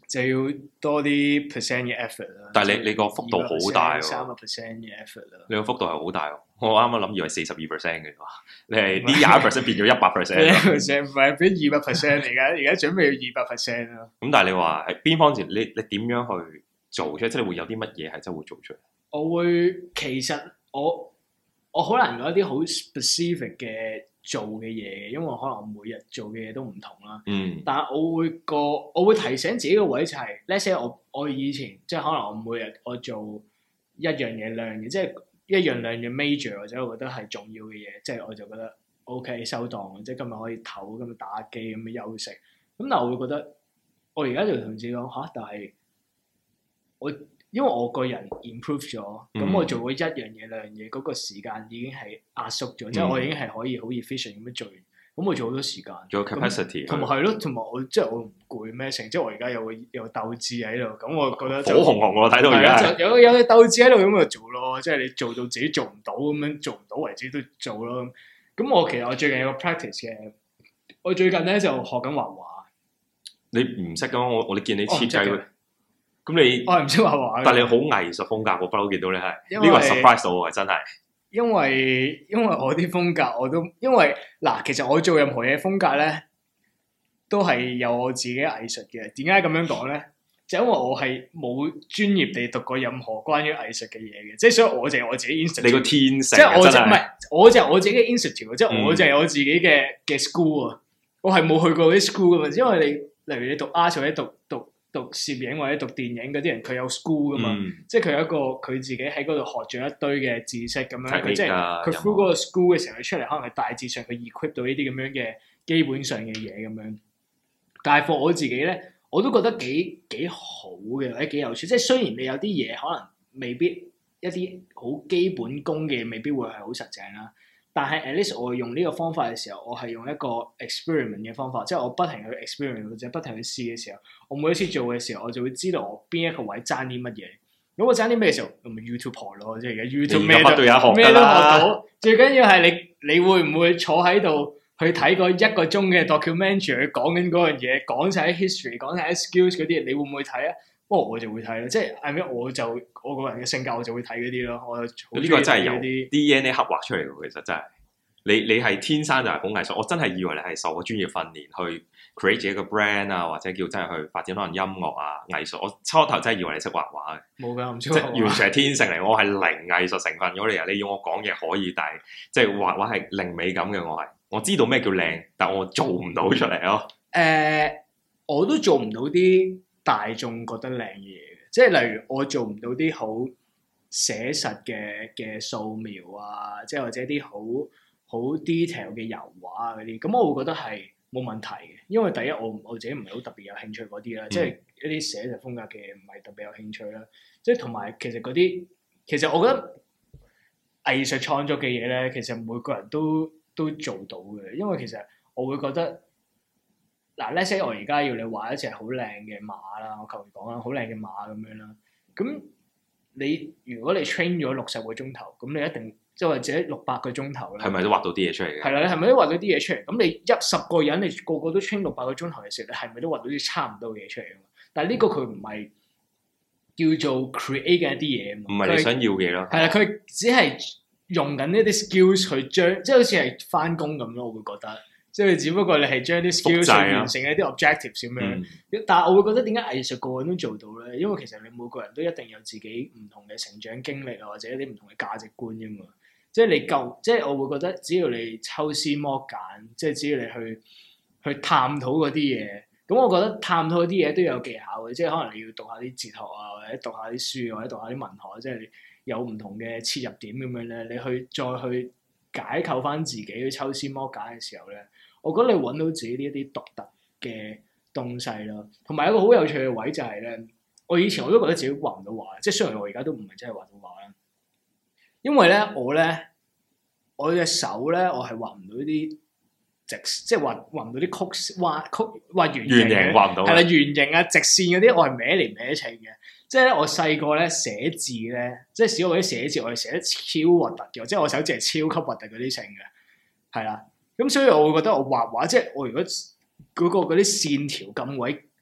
就要多啲 percent 嘅 effort 啦。 但係你個幅度好大喎 ，3% 嘅 effort 啦。 你個幅度係好大喎，我啱啱諗以為42%嘅，你係呢20%變咗100%。 唔係變200% 嚟㗎，而家準備要200% 咯。 咁但係你話係邊方面？你點樣去做出？即係你會有啲乜嘢係真係會做出嚟？ 其實我好難講一啲好 specific 嘅做嘅嘢，因為可能我每日做嘅嘢都唔同啦。但係我會提醒自己個位就係，let's say 我以前即係可能我每日我做一樣嘢兩樣嘢，即係一樣兩樣 major 或者我覺得係重要嘅嘢，即係我就覺得 OK 收檔，即係今日可以唞，今日打機咁樣休息。咁但係我會覺得我而家就同自己講嚇，但係因為我個人 improve 咗，咁我做過一樣嘢兩樣嘢，嗰個時間已經係壓縮咗，即係我已經係可以好 efficient 咁樣做完，咁我做好多時間。 仲有 capacity， 同埋係咯，同埋我即係我唔攰咩成，即係我而家有鬥志喺度，咁我覺得好紅紅我睇到而家有鬥志喺度咁就做咯，即係你做到自己做唔到咁樣，做唔到為止都做咯。咁我其實我最近有個 practice 嘅，我最近咧就學緊畫畫。 你唔識噶嘛？我哋見你設計。咁你我係唔識畫畫， 但係你好藝術風格，我不嬲見到你係呢個 surprise 到我真係。 因為我啲風格我都因為嗱，其實我做任何嘢風格咧，都係有我自己藝術嘅。點解咁樣講咧？就因為我係冇專業地讀過任何關於藝術嘅嘢嘅，即係所以我就係我自己 institute。你個天性， 即係我就唔係，我就係我自己嘅 institute，即係我就係我自己嘅 school 啊。我係冇去過啲 school 噶嘛，因為例如你讀 art 或者讀攝影或者讀電影嗰啲人，佢有 school 噶嘛，即係佢有一個佢自己喺嗰度學咗一堆嘅知識咁樣，佢即係佢 through 嗰個 school 嘅時候，佢出嚟可能係大致上佢 equip 到呢啲咁樣嘅基本上嘅嘢咁樣。但係 for 我自己咧，我都覺得幾好嘅，或者幾有趣。即係雖然你有啲嘢可能未必一啲好基本功嘅，未必會係好實淨啦。但係 at least 我用呢個方法嘅時候，我係用一個 experiment 嘅方法，即係我不停去 experiment 或者不停去試嘅時候，我每一次做嘅時候，我就會知道我邊一個位爭啲乜嘢。如果我爭啲咩嘅時候，咁咪 YouTube 學咯，即係而家 YouTube 咩都學到。最緊要係你會唔會坐喺度去睇個1個鐘嘅 documentary， 講緊嗰樣嘢，講晒啲 history， 講晒啲 skills 嗰啲，你會唔會睇啊？不過我就會睇咯，即係係咩？我個人嘅性格，我就會睇嗰啲咯。我呢個真係有啲 DNA 刻畫出嚟嘅，其實真係你係天生就係好藝術。我真係以為你係受過專業訓練去 create 自己個 brand 啊，或者叫真係去發展可能音樂啊、藝術。我初頭真係以為你識畫畫嘅， 冇㗎，唔識即係完全係天性嚟。我係零藝術成分咗你啊！你要我講嘢可以，但係即係畫畫係零美感嘅。我知道咩叫靚，但我做唔到出嚟咯。 我都做唔到啲大眾覺得靚嘅嘢嘅，即係例如我做唔到啲好寫實嘅素描啊，即係或者啲好 detail 嘅油畫啊嗰啲，咁我會覺得係冇問題嘅，因為第一我自己唔係好特別有興趣嗰啲啦，即係一啲寫實風格嘅唔係特別有興趣啦，即係同埋其實嗰啲其實我覺得藝術創作嘅嘢咧，其實每個人都做到嘅，因為其實我會覺得。嗱，let's say 我而家要你畫一隻好靚嘅馬啦，我求其講啦，好靚嘅馬咁樣啦。咁如果你 train 咗60個鐘頭，咁你一定即係或者600個鐘頭咧， 係咪都畫到啲嘢出嚟嘅？係啦，你係咪都畫到啲嘢出嚟？咁你10個人，你個個都 train 600個鐘頭嘅時候，你係咪都畫到啲差唔多嘅嘢出嚟？但係呢個佢唔係叫做 create 嘅一啲嘢， 唔係你想要嘅嘢咯。 係啦，佢只係用緊呢啲 skills 去將，即係好似係返工咁咯，我會覺得。即係只不過你係將啲 skills 完成一啲 objectives 咁樣，但係我會覺得點解藝術個個人都做到咧？因為其實你每個人都一定有自己唔同嘅成長經歷啊，或者一啲唔同嘅價值觀啫嘛。即係你即係我會覺得只要你抽絲剝繭，即係只要你去探討嗰啲嘢，咁我覺得探討嗰啲嘢都有技巧嘅，即係可能你要讀下啲哲學啊，或者讀下啲書，或者讀下啲文學，即係你有唔同嘅切入點咁樣咧，你再去解構翻自己去抽絲剝繭嘅時候咧。我覺得你揾到自己呢一啲獨特嘅東西咯，同埋一個好有趣嘅位就係咧，我以前我都覺得自己畫唔到畫，即係雖然我而家都唔係真係畫到畫啦，因為咧我隻手咧我係畫唔到啲即係畫唔到啲曲畫圓形畫唔到， 係啦，圓形啊直線嗰啲我係歪嚟歪斜嘅，即係咧我細個咧寫字咧，即係小學嗰啲寫字我係寫得超核突嘅，即係我手指係超級核突嗰啲性嘅，係啦。咁所以我會覺得我畫畫即係我如果嗰啲線條咁鬼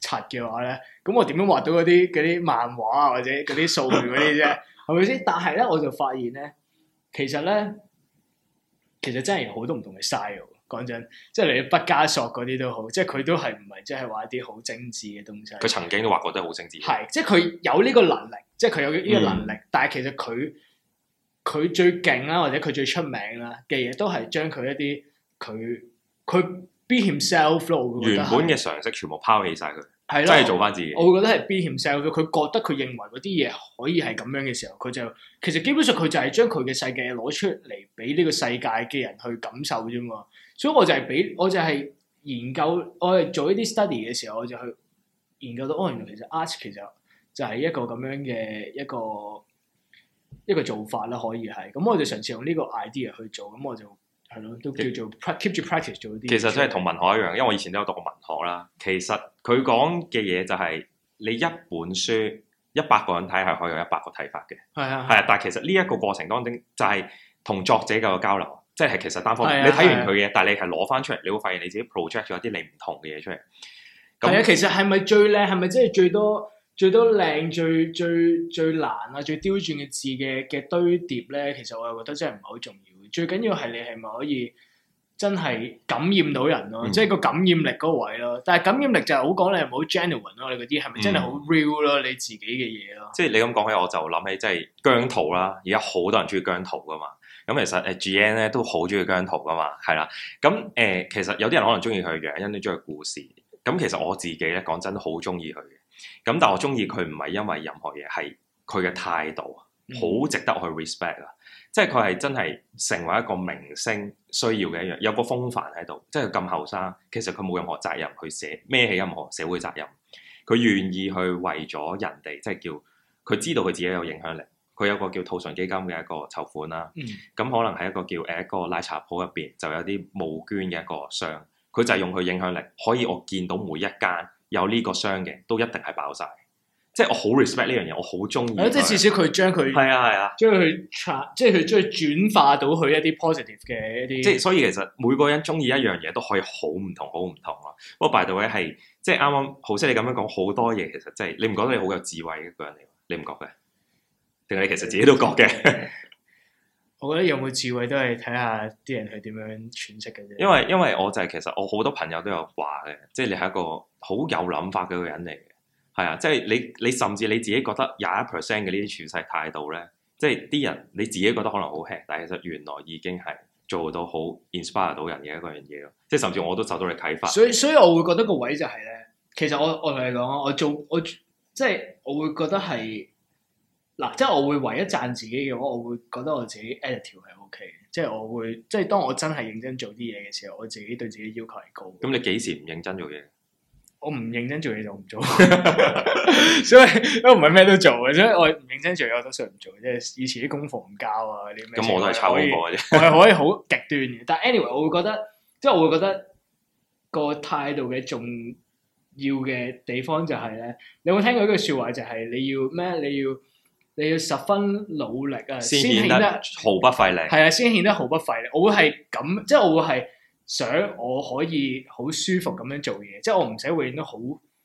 柒嘅話咧，咁我點樣畫到嗰啲漫畫啊或者嗰啲數據嗰啲啫？係咪先？但係咧，我就發現咧，其實真係有好多唔同嘅 style。講真，即係你畢加索嗰啲都好，即係佢都係唔係即係畫一啲好精緻嘅東西。 佢曾經都畫過得好精緻。係， 即係佢有呢個能力，即係佢有呢個能力，但係其實佢最勁啦，或者佢最出名啦嘅嘢，都係將佢一啲佢 be himself 咯。 原本嘅常識全部拋棄晒佢， 係真係做翻自己。 我會覺得係 be himself。佢覺得佢認為嗰啲嘢可以係咁樣嘅時候，佢就其實基本上佢就係將佢嘅世界攞出嚟俾呢個世界嘅人去感受啫嘛。所以我就係研究，我係做一啲 study 嘅時候，我就去研究到，原來其實 art 其實就係一個咁樣嘅一個做法啦，可以係。咁我就嘗試用呢個 idea 去做，咁我就係咯，都叫做 keep 住 practice 做啲。 其實真係同文學一樣，因為我以前都有讀過文學啦。其實佢講嘅嘢就係你一本書100個人睇係可以有100個睇法嘅。係啊，但係其實呢一個過程當中就係同作者嘅交流。即係其實單方面，你睇完佢嘅，但係你係攞翻出嚟，你會發現你自己 project 咗一啲你唔同嘅嘢出嚟。係啊，其實係咪最靚？係咪真係最多靚、最難啊、最刁鑽嘅字嘅堆疊咧？其實我又覺得真係唔係好重要。最緊要係你係咪可以真係感染到人咯？即係個感染力嗰位咯。但係感染力就係好講你係咪好 genuine 咯？你嗰啲係咪真係好 real 咯？你自己嘅嘢咯。即係你咁講起，我就諗起即係姜濤啦。而家好多人中意姜濤噶嘛。咁其實GN 咧都好中意姜濤噶嘛，係啦。咁其實有啲人可能中意佢嘅樣，有啲中意故事。咁其實我自己咧講真都好中意佢嘅。咁但係我中意佢唔係因為任何嘢，係佢嘅態度，好值得去 respect 啊！即係佢係真係成為一個明星需要嘅一樣，有個風範喺度。即係佢咁後生，其實佢冇任何責任去孭起任何社會責任。佢願意去為咗人哋，即係叫佢知道佢自己有影響力。佢有個叫兔唇基金嘅一個籌款啦，咁可能係一個叫一個奶茶鋪入邊就有啲募捐嘅一個箱，佢就係用佢影響力，可以我見到每一間有呢個箱嘅都一定係爆晒，即係我好 respect 呢樣嘢，我好中意。即係至少佢將佢係啊，將佢即係佢將佢轉化到去一啲 positive 嘅一啲。即係所以其實每個人中意一樣嘢都可以好唔同，好唔同咯。不過 by the way 係即係啱啱好似你咁樣講好多嘢，其實即係你唔覺得你好有智慧嘅一個人嚟？你唔覺嘅？定係你其實自己都覺嘅？我覺得有冇智慧都係睇下啲人係點樣詮釋嘅啫。因為我就係其實我好多朋友都有話嘅，即係你係一個好有諗法嘅一個人嚟嘅。係啊，即係你甚至你自己覺得21%嘅呢啲處世態度咧，即係啲人你自己覺得可能好 hea，但係其實原來已經係做到好 inspire 到人嘅一個樣嘢咯。即係甚至我都受到你啟發。所以我會覺得個位就係咧，其實我同你講，我即係我會覺得係。嗱，即係我會唯一讚自己嘅話，我會覺得我自己 attitude 係 OK 嘅，即係我會，即係當我真係認真做啲嘢嘅時候，我自己對自己要求係高。咁你幾時唔認真做嘢？我唔認真做嘢就唔做，所以都唔係咩都做嘅，所以我唔認真做嘢我都算唔做，即係以前啲功課唔交啊啲咩。咁我都係抄功課嘅啫，我係可以好極端嘅，但係 anyway 我會覺得，即係我會覺得個態度嘅重要嘅地方就係咧，你有冇聽過一句説話就係你要咩？你要十分努力啊，先顯得毫不費力。係啊，先顯得毫不費力。我會係咁，即係我會係想我可以好舒服咁樣做嘢，即係我唔使永遠都好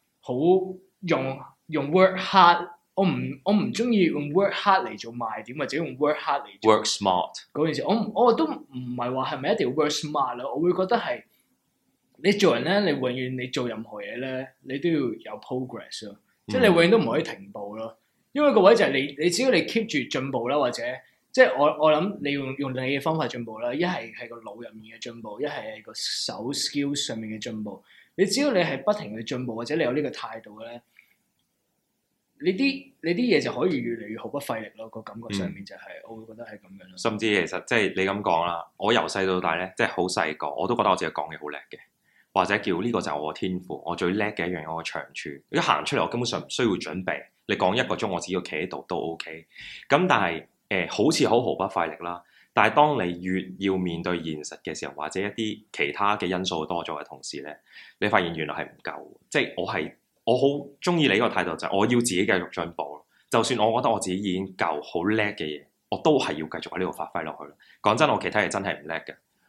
用 work hard。我唔中意用 work hard 嚟做賣點，或者用 work hard 嚟做 work smart 嗰件事。我都唔係話係咪一定要 work smart 咯？我會覺得係你做人咧，你永遠你做任何嘢咧，你都要有 progress 咯，即係你永遠都唔可以停步咯。因為個位就係你只要你 keep 住進步啦，或者即係我諗你用你嘅方法進步啦，一係個腦入面嘅進步，一係個手 skills 上面嘅進步。你只要你係不停去進步，或者你有呢個態度咧，你啲嘢就可以越嚟越毫不費力咯。個感覺上面就係我會覺得係咁樣咯。甚至其實即係你咁講啦，我由細到大咧，即係好細個，我都覺得我自己講嘢好叻嘅，或者叫呢個就係我嘅天賦，我最叻嘅一樣，我嘅長處。一行出嚟，我根本上唔需要準備。你講1個鐘，我只要企喺度都 OK。咁但係好似好毫不費力啦。但係當你越要面對現實嘅時候，或者一啲其他嘅因素多咗嘅同時咧，你發現原來係唔夠。即係我好中意你呢個態度，就係我要自己繼續進步。就算我覺得我自己已經夠好叻嘅嘢，我都係要繼續喺呢度發揮落去。講真，我其他嘢真係唔叻嘅。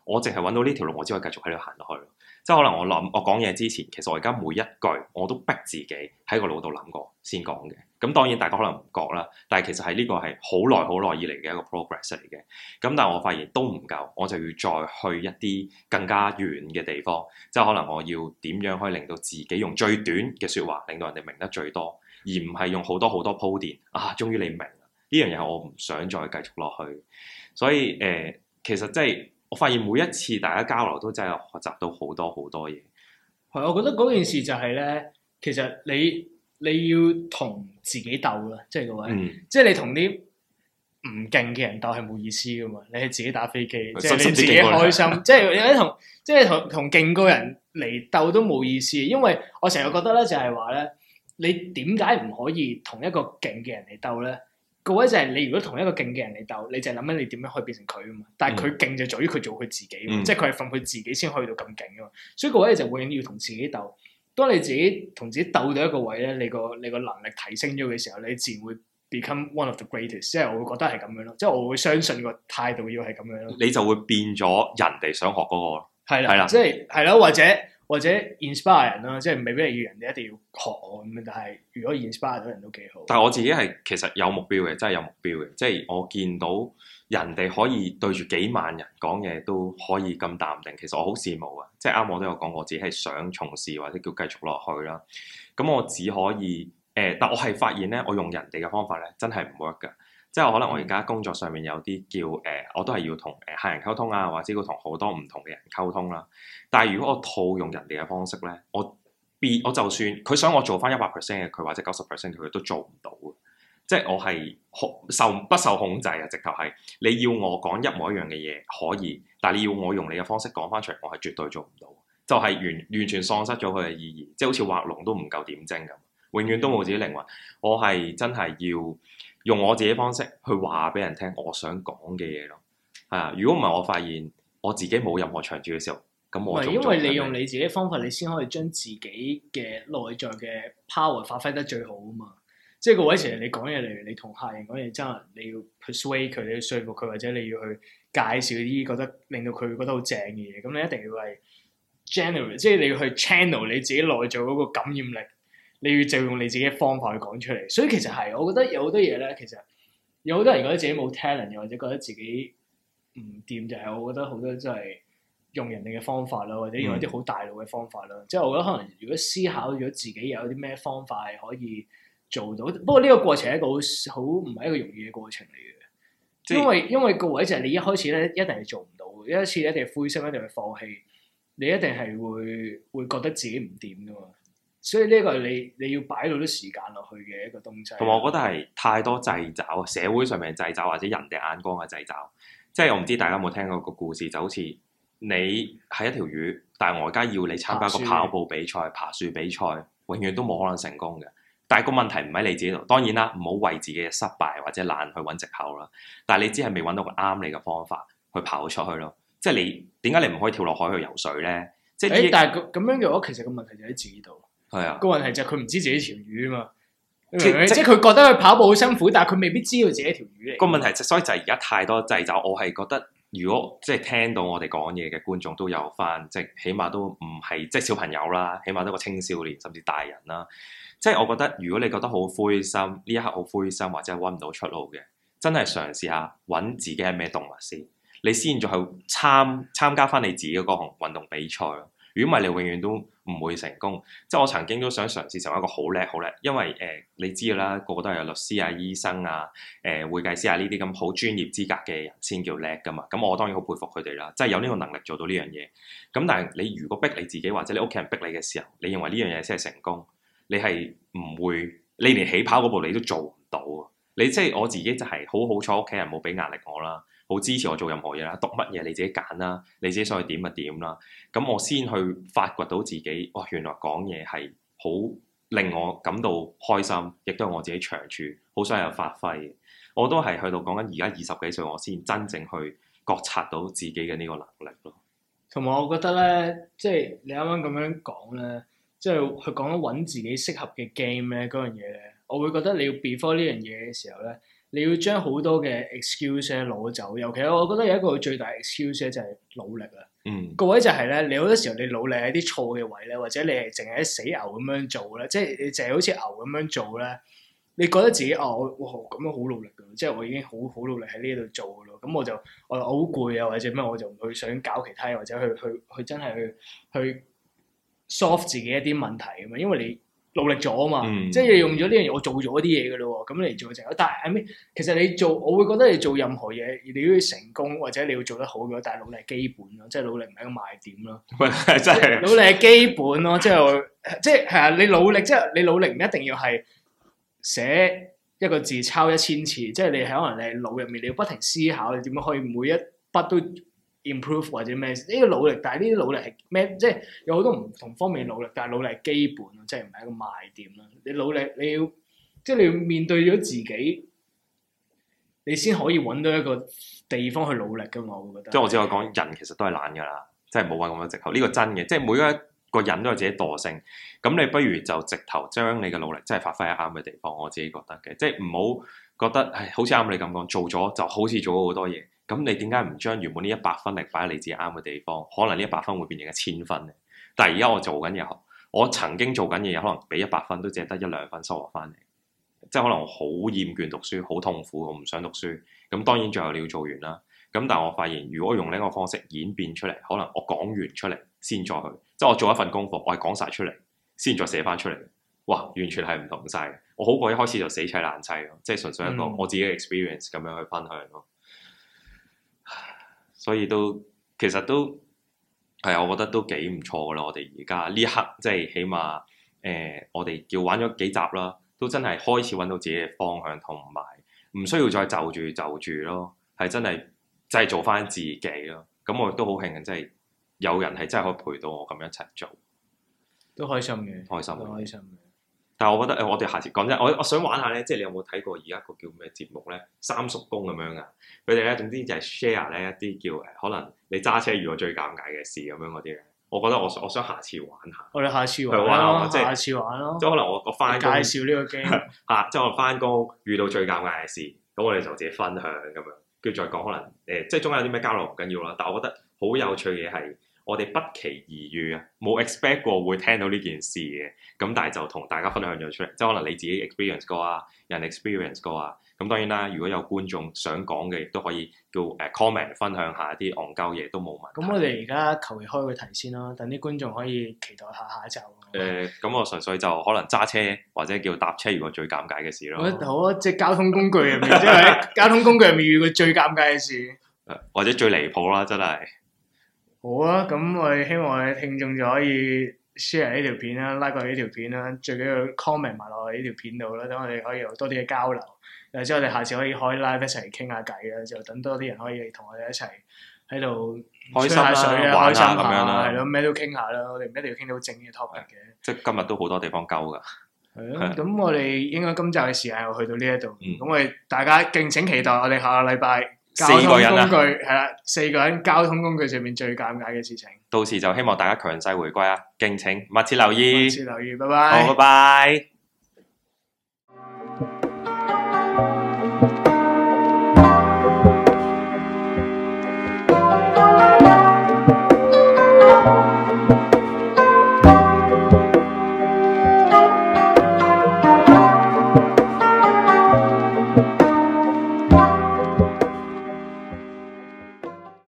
我淨係揾到呢條路，我只可以繼續喺度行落去。即係可能我講嘢之前，其實我而家每一句我都逼自己喺個腦度諗過先講嘅。咁當然大家可能唔覺啦，但係其實係呢個係好耐以嚟嘅一個 progress 嚟嘅。咁但係我發現都唔夠，我就要再去一啲更加遠嘅地方。即係可能我要點樣可以令到自己用最短嘅説話，令到人哋明得最多，而唔係用好多鋪墊啊！終於你明啦，呢樣嘢我唔想再繼續落去。所以其實即係。我發現每一次大家交流都真係學習到好多嘢。 係，我覺得嗰件事就係咧，其實你要同自己鬥啦，即係各位，即係你同啲唔勁嘅人鬥係冇意思噶嘛。你係自己打飛機，即係你自己開心，即係同勁過人嚟鬥都冇意思。因為我成日覺得咧，就係話咧，你點解唔可以同一個勁嘅人嚟鬥咧？個位就係你如果同一個勁嘅人嚟鬥，你就係諗緊你點樣可以變成佢啊嘛。但係佢勁就在於佢做佢自己，即係佢係訓佢自己先去到咁勁啊嘛。所以個位就永遠要同自己鬥。當你自己同自己鬥到一個位咧，你個能力提升咗嘅時候，你自然會 become one of the greatest。即係我會覺得係咁樣咯，即係我會相信個態度要係咁樣咯。你就會變咗人哋想學嗰個咯。係啦，即係係咯，或者 inspire 人啦，即係未必係要人哋一定要學我咁樣，但係如果 inspire 到人都幾好。但係我自己係其實有目標嘅，真係有目標嘅，即係我見到人哋可以對住幾萬人講嘢都可以咁淡定，其實我好羨慕啊！即係啱我都有講，我自己係想從事或者叫繼續落去啦。咁我只可以但我係發現咧，我用人哋嘅方法咧，真係唔 work 㗎。即係可能我而家工作上面有啲叫我都係要同客人溝通啊，或者要同好多唔同嘅人溝通啦。但係如果我套用人哋嘅方式咧，我就算佢想我做翻100% 嘅佢，或者90% 佢都做唔到嘅。即係我係不受控制啊！直頭係你要我講一模一樣嘅嘢可以，但係你要我用你嘅方式講翻出嚟，我係絕對做唔到。就係完全喪失咗佢嘅意義，即係好似畫龍都唔夠點睛咁，永遠都冇自己靈魂。我係真係要用我自己方式去話俾人聽我想講嘅嘢咯。係啊，如果唔係我發現我自己冇任何長處嘅時候，咁我因為你用你自己嘅方法，你先可以將自己嘅內在嘅 power 發揮得最好啊嘛。即係個位，其實你講嘢，例如你同客人講嘢，真係你要 persuade 佢，你要說服佢，或者你要去介紹啲覺得令到佢覺得好正嘅嘢，咁你一定要係 generate，即係你要去 channel 你自己內在嗰個感染力，你要就用你自己嘅方法去講出嚟。所以其實係，我覺得有好多嘢咧，其實有好多人覺得自己冇 talent，又或者覺得自己唔掂，就係我覺得好多真係用人哋嘅方法啦，或者用一啲好大路嘅方法啦。即係我覺得可能如果思考咗自己有啲咩方法係可以做到，不過呢個過程係一個好唔係一個容易嘅過程嚟嘅，因為個位就係你一開始咧一定係做唔到，一開始一定係灰心，一定係放棄，你一定係會覺得自己唔掂噶嘛，所以呢個係你要擺到啲時間落去嘅一個東西。同埋我覺得係太多掣肘，社會上面嘅掣肘或者人哋眼光嘅掣肘，即係我唔知大家有冇聽過個故事，就好似你係一條魚，但係我而家要你參加個跑步比賽、爬樹比賽，永遠都冇可能成功嘅。但係個問題唔喺你自己度，當然啦，唔好為自己嘅失敗或者懶去揾藉口啦。但係你只係未揾到個啱你嘅方法去跑出去咯。即係你點解你唔可以跳落海去游水咧？即係但係咁樣嘅話，其實個問題就喺自己度。係啊，個問題就係佢唔知自己條魚啊嘛。即係佢覺得佢跑步好辛苦，但係佢未必知道自己條魚嚟。個問題所以就係而家太多掣肘。我係覺得，如果即係聽到我哋講嘢嘅觀眾都有翻，即係起碼都唔係即係小朋友啦，起碼都個青少年甚至大人啦。即係我覺得，如果你覺得好灰心，呢一刻好灰心或者揾唔到出路嘅，真係嘗試下揾自己係咩動物先，你先再去參加翻你自己嗰項運動比賽。如果唔係，你永遠都唔會成功。即係我曾經都想嘗試成為一個好叻，因為你知啦，個個都係有律師啊、醫生啊、會計師啊呢啲咁好專業資格嘅人先叫叻噶嘛。咁我當然好佩服佢哋啦，即係有呢個能力做到呢樣嘢。咁但係你如果逼你自己或者你屋企人逼你嘅時候，你認為呢樣嘢先係成功？你係唔會，你連起跑嗰步你都做唔到啊！你即係我自己就係好彩，屋企人冇俾壓力我啦，好支持我做任何嘢啦，讀乜嘢你自己揀啦，你自己想去點就點啦。咁我先去發掘到自己，哇！原來講嘢係好令我感到開心，亦都係我自己長處，好想有發揮。我都係去到講緊而家20幾歲，我先真正去覺察到自己嘅呢個能力咯。同埋我覺得咧，即係你啱啱咁樣講咧。即係佢講緊揾自己適合嘅 game 咧，嗰樣嘢咧，我會覺得你要 before 呢樣嘢嘅時候咧， 你要將好多嘅 excuse 攞走，尤其我覺得有一個最大 excuse 就係努力啊。個位就係咧，你好多時候你努力喺啲錯嘅位咧，或者你係淨係喺死牛咁樣做咧，即係你淨係好似牛咁樣做咧，你覺得自己我咁樣好努力噶，即係我已經好努力喺呢度做噶咯，咁我好攰啊，或者咩我就唔去想搞其他嘢，或者去真係去 solve 自己一啲問題咁嘛，因為你努力咗啊嘛，即係你用咗呢樣嘢，我做咗啲嘢噶咯喎，咁你做成，但係I mean，其實你做，我會覺得你做任何嘢，你都要成功或者你要做得好嘅，但係努力係基本咯，即係努力唔係一個賣點咯。 真係努力係基本咯，即係係啊！你努力即係你努力唔一定要係寫一個字抄1000次，即係你可能你腦入面你要不停思考，你點樣可以每一筆都 improve 或者咩？呢個努力，但係呢啲努力係咩？即係有好多唔同方面努力，但係努力係基本咯，即係唔係一個賣點咯。你努力，你要即係你要面對咗自己，你先可以揾到一個地方去努力噶嘛。我會覺得。 即係我只可以講，人其實都係懶噶啦，即係冇揾咁多藉口。呢個真嘅，即係每一個人都有自己惰性。咁你不如就直頭將你嘅努力真係發揮喺啱嘅地方。我自己覺得嘅，即係唔好覺得係好似啱你咁講，做咗就好似做咗好多嘢。咁你點解唔將原本呢100分力擺喺你自己啱嘅地方？可能呢100分會變成1000分嘅。但係而家我做緊嘢，我曾經做緊嘢，可能俾100分都只係得1-2分收穫翻嚟。即係可能我好厭倦讀書，好痛苦，我唔想讀書。咁當然最後你要做完啦。咁但係我發現，如果用呢個方式演變出嚟，可能我講完出嚟先再去，即係我做一份功課，我係講晒出嚟先再寫翻出嚟。哇，完全係唔同晒。我好過一開始就死砌爛砌咯，即係純粹一個我自己嘅 experience 咁樣去分享咯。所以其實都係啊，我覺得都幾唔錯噶啦。我哋而家呢一刻即係起碼我哋叫玩咗幾集啦，都真係開始揾到自己嘅方向，同埋唔需要再就住咯，係真係真係做翻自己咯。咁我亦都好慶幸，真係有人係真係可以陪到我咁一齊做， 都開心嘅， 開心， 都開心嘅。 但係我覺得我哋下次講真，我想玩下咧，即係你有冇睇過而家個叫咩節目咧？三叔公咁樣噶，佢哋咧總之就係 share 咧一啲叫可能你揸車遇過最尷尬嘅事咁樣嗰啲咧。我覺得我想下次玩下。我哋下次玩咯，下次玩咯。 即係可能我翻工介紹呢個 game 即係我翻工遇到最尷尬嘅事，咁我哋就自己分享咁樣，跟住再講可能即係中間有啲咩交流唔緊要啦。但係我覺得好有趣嘅係，我哋不期而遇啊，冇 expect 過會聽到呢件事嘅，咁但係就同大家分享咗出嚟，即係可能你自己 experience 過啊，人 experience 過啊，咁當然啦，如果有觀眾想講嘅，亦都可以叫comment 分享下啲戇鳩嘢都冇問題。 咁我哋而家求其開個題先啦，等啲觀眾可以期待下一集。 咁我純粹就可能揸車或者叫搭車遇過最尷尬嘅事咯。 好啊，即係交通工具入面，即係喺交通工具入面遇過最尷尬嘅事， 或者最離譜啦，真係。 好啊，咁我哋希望我哋聽眾就可以 share 呢條片啦，like 過呢條片啦，最緊要 comment 埋落去呢條片度啦，等我哋可以有多啲嘅交流。或者我哋下次可以開 live 一齊傾下偈啦，就等多啲人可以同我哋一齊喺度吹下水啊，開心下咁樣啦，係咯，咩都傾下啦。我哋唔一定要傾到正嘅 topic 嘅。 即係今日都好多地方鳩㗎。 係咯，咁我哋應該今集嘅時間又去到呢一度，咁我哋大家敬請期待我哋下個禮拜。4個人係啦，4個人交通工具上面最尷尬嘅事情。 到時就希望大家強勢回歸啊！敬請密切留意。 密切留意，拜拜。 好，拜拜。